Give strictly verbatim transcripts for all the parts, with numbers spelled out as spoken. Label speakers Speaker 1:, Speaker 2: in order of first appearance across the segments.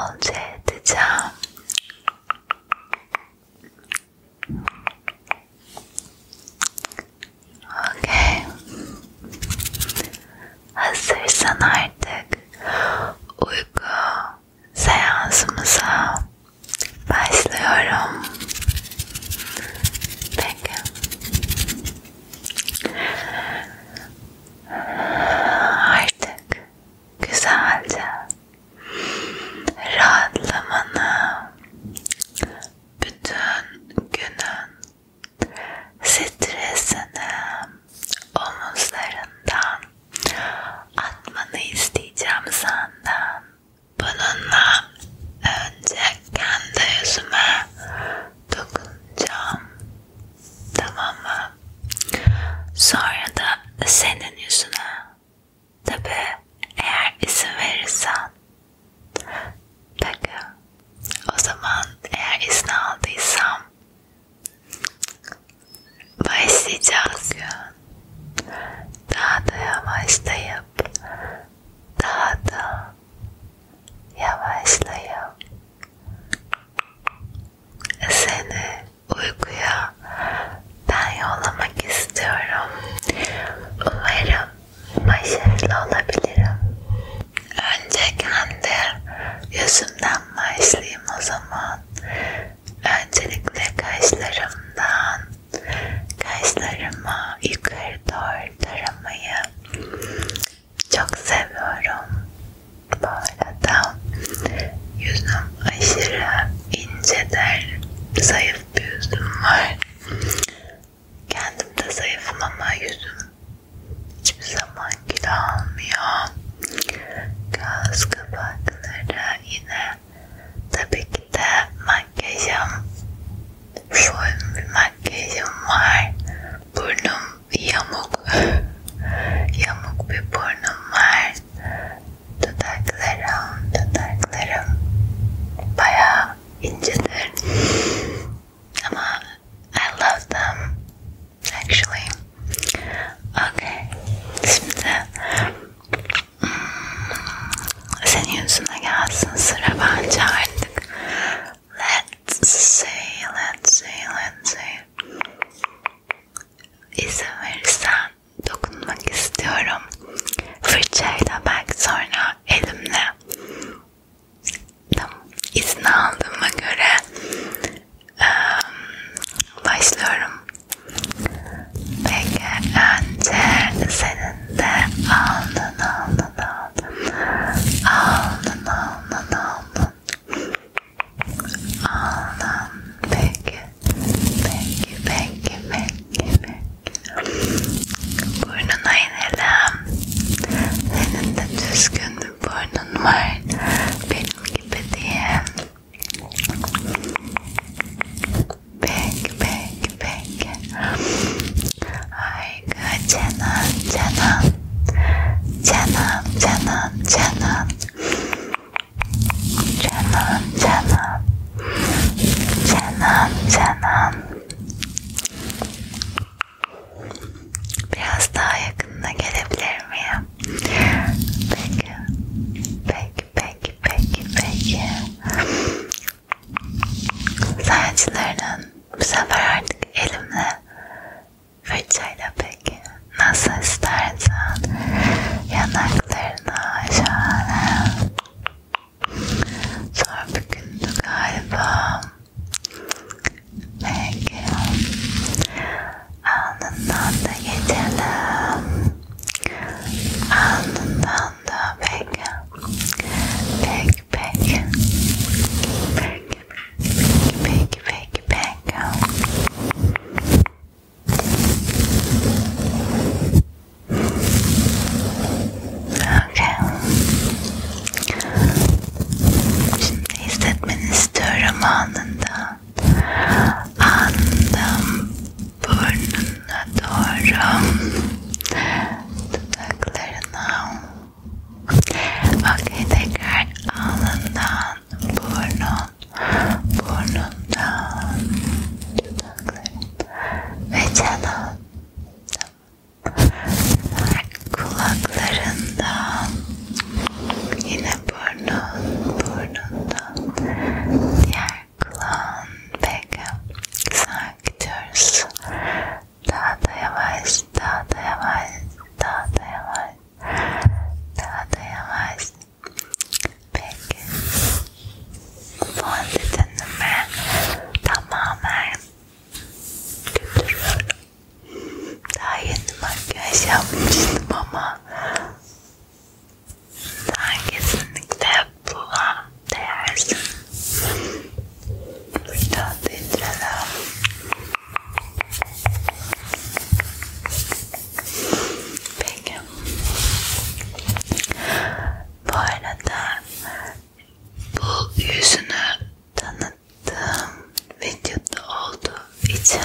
Speaker 1: bolca edeceğim. Okay. Hazırsan artık uyku seansımıza başlıyorum. Peki. Artık güzelce rahatla yapmıştım ama sen kesinlikle buna değersin. Burada dindirelim. Peki. Bu arada bu yüzünü tanıttığım videoda olduğu için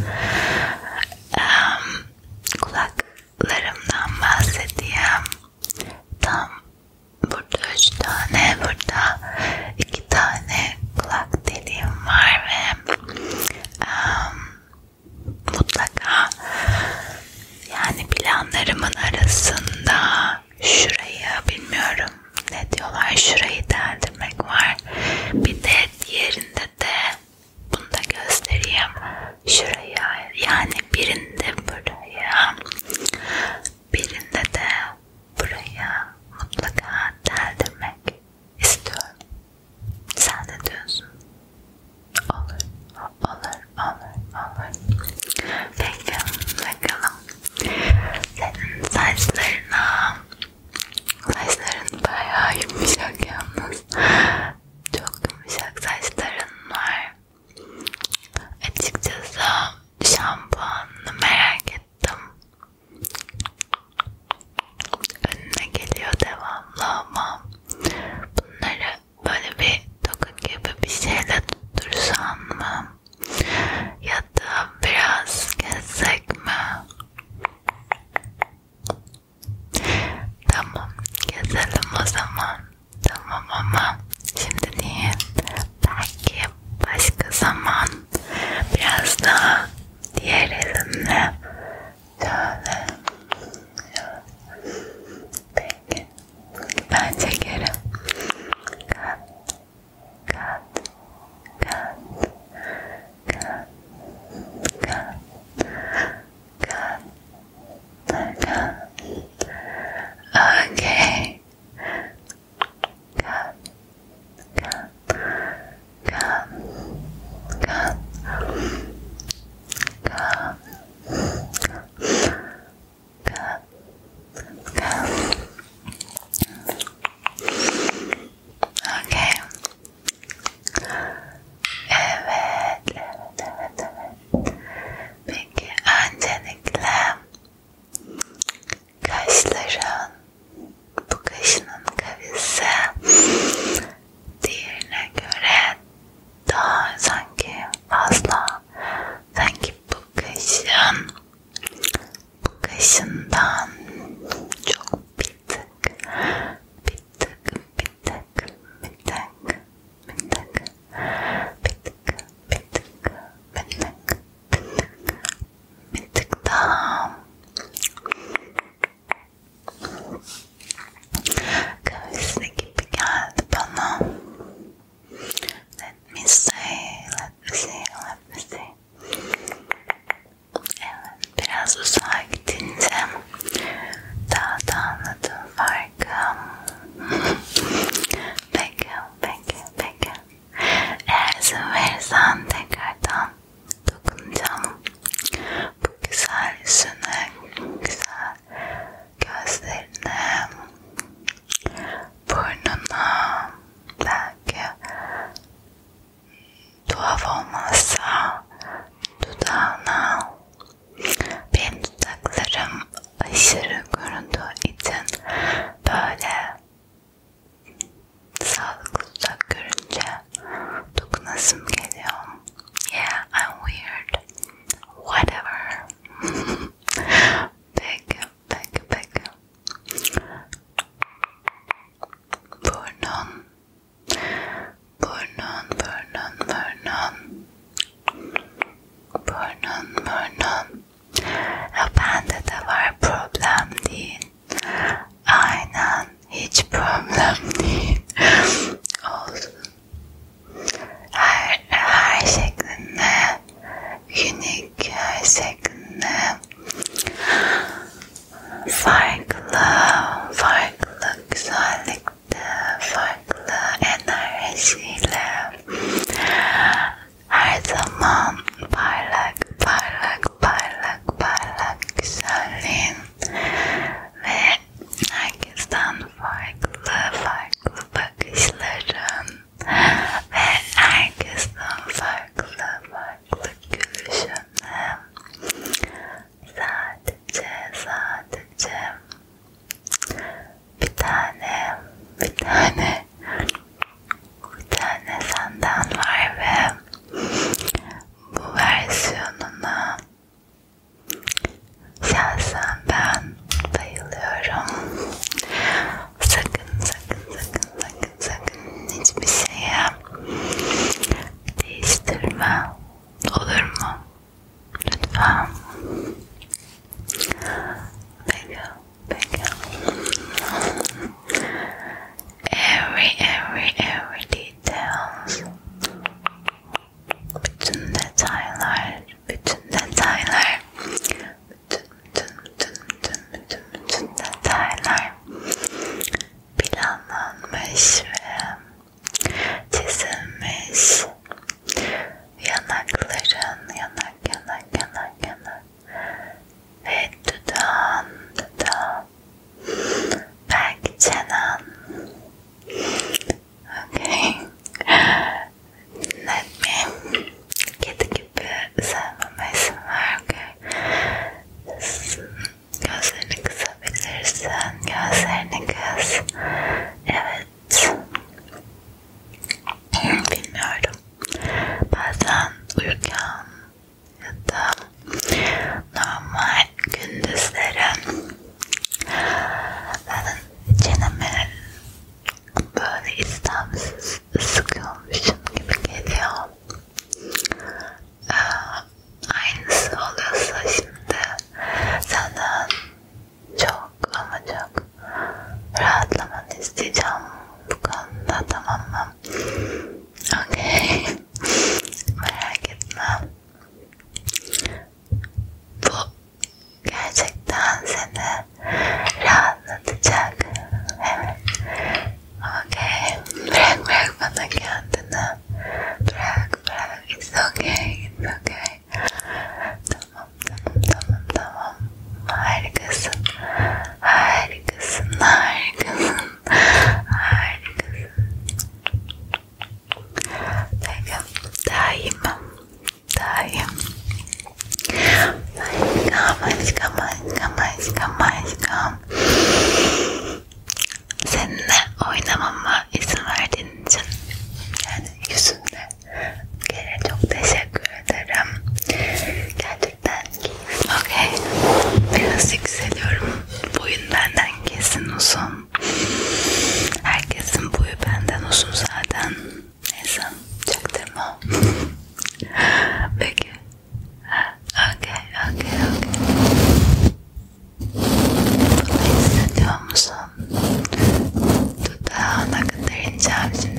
Speaker 1: um, kulaklarımdan bahsedeyim. Tam burada üç tane, burada iki tane kulak deliğim var ve um, mutlaka yani planlarımın arasında şurayı bilmiyorum ne diyorlar, şurayı deldirmek var. Bir de diğerinde de bunu da göstereyim. Şuraya yani birinde buraya, birinde de buraya mutlaka deldirmek istiyorum. Sen ne diyorsun? Olur, olur, olur, olur. Peki, bakalım. Senin saçlarına, saçların bayağı yumuşak yalnız. Çok yumuşak saçların var. Açıkçası şampuanını merak ettim. Önüne geliyor devamlı ama bunları böyle bir toka gibi bir şeyle tuttursan mı? Ya da biraz kessek mi? Tamam, keselim o zaman. Tamam ama şimdi değil. Belki başka zaman biraz daha diğer elimle şöyle. Peki, ben çekerim. Kat, kat, kat, kat, kat, kat, kat. Okay. Kat, kat, kat, kat, kat, kat, kat. Okay. Evet, evet, evet, evet. Peki öncelikle kaşların, bu kaşının kavisi diğerine göre daha sanki fazla, sanki bu kaşın bu kaşından çok bir tık bir tık bir tık bir tık bir tık bir tık bir tık bir tık bir tık daha kavisi gibi geldi bana. Let me see, let me see, let me see. Evet, biraz uzağa gidince daha da anladım farkı. Peki, peki, peki. Eğer izin verirsen tekrardan dokunacağım. Bu güzel yüzüne, güzel gözlerine, burnuna, belki tuhaf olmazsa dudağına. Benim dudaklarım aşırı göründüğü için böyle sağlıklı dudak görünce dokunasım geliyor. Yeah, I'm weird. Whatever. Peki, peki, peki. Burnun, burnun, burnun, burnun, burnun, burnun. Ya bende de var, problem değil. Aynen, hiç problem değil. Olsun. Her, her şeklinde, unik her şeklinde. Farklı, farklı güzellikte, farklı enerjiyle her zaman parlak, parlak, parlak, parlak güzelliğin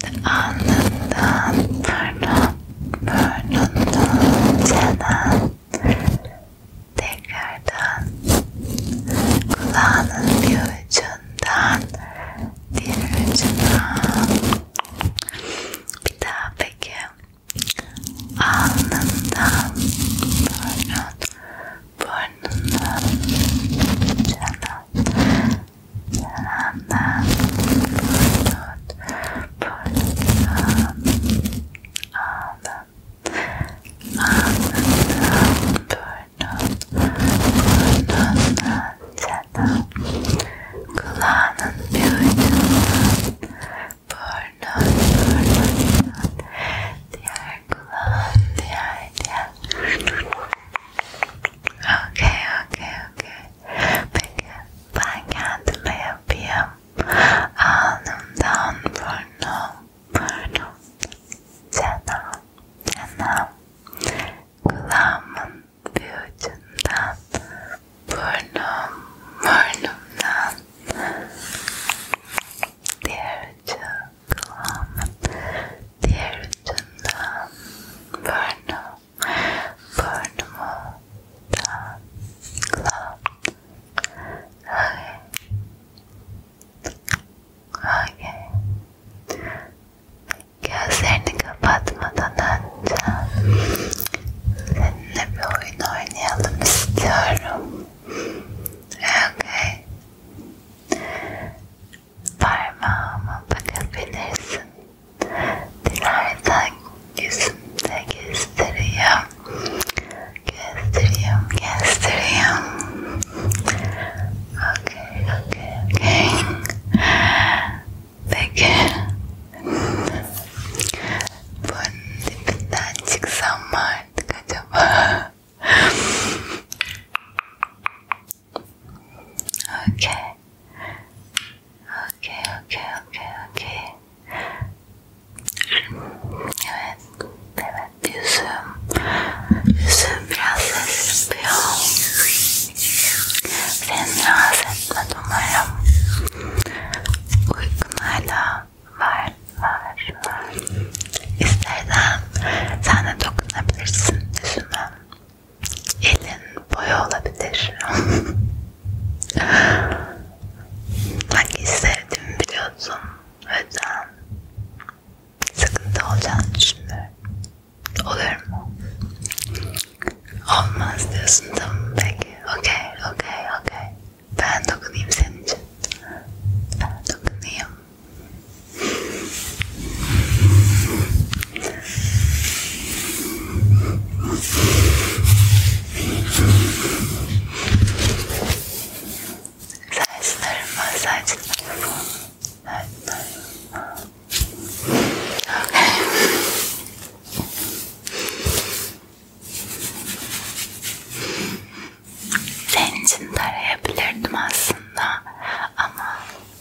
Speaker 1: Alnından, burnun, burnundan, çenen, tekrardan kulağının bir ucundan diğer ucuna. Bir daha peki. Alnından, burnun, burnundan, çenen, çenenden, burnun, burnundan, alnın, alnından, burnun, burnundan, çenen, kulağının bir ucundan, burnun, burnundan, diğer kulağın, diğer, diğer. Okey, okey, okey. Peki, ben kendime yapayım. Alnımdan burnum, burnum, çenem, çenem, kulağımın bir ucundan, burnum, burnumdan, diğer ucu kulağımın, diğer ucundan, burnum, burnumu, da, kulağım. Okay. Okay. Gözlerini kapatmadan önce seninle bir oyun oynayalım istiyorum. Okay. Parmağıma bakabilirsin. Dilersen yüzümde göstereyim. Göstereyim, göstereyim. Okay, okay, okay. Peki. Bunun dibinden çıksam mı artık acaba? Okay. Okay, okay, okay, okay. Evet, evet yüzüm. Yüzüm biraz ses yapıyor. Seni rahatsız etmedi umarım. Uykun hala var, var, var. İstersen sen de dokunabilirsin yüzüme. Elin boyu olabilir. Bak sevdiğimi biliyorsun. O yüzden sıkıntı olacağını düşünmüyorum. Olur mu? Olmaz diyorsun, tamam peki. Okey, okey, okey. Ben dokunayım senin için. Ben dokunayım. Saçlarıma, saçlarıma, saçlarıma. Okay. Senin için tarayabilirdim aslında ama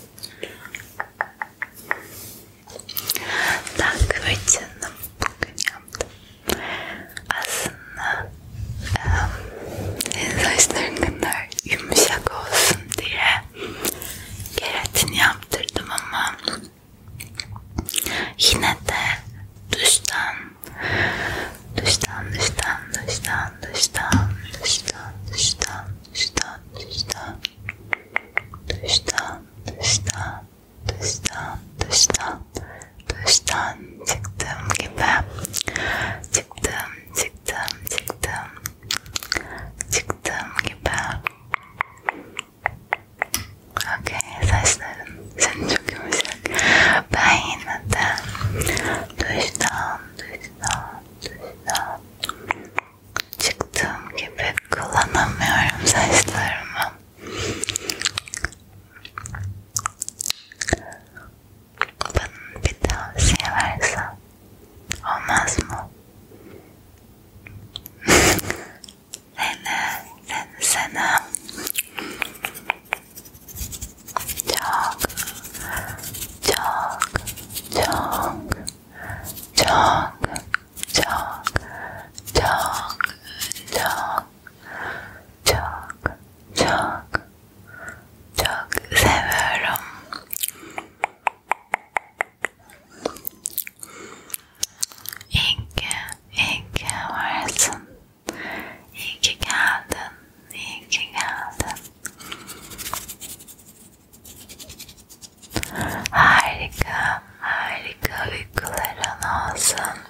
Speaker 1: takvicini bugün yaptım. Aslında um, senin saçların kadar yumuşak olsun diye keratin yaptırdım ama yine de duştan duştan duştan duştan duştan duştan duştan duştan duştan duştan duştan duştan duştan duştan çıktığım gibi çıktım çıktım çıktım çıktığım gibi. Okey, saçların senin çok yumuşak. Ben yine de duştan duştan duştan çıktığım gibi kullanamıyorum saçlarımı. Bana bir tavsiye versen olmaz mı? lazım.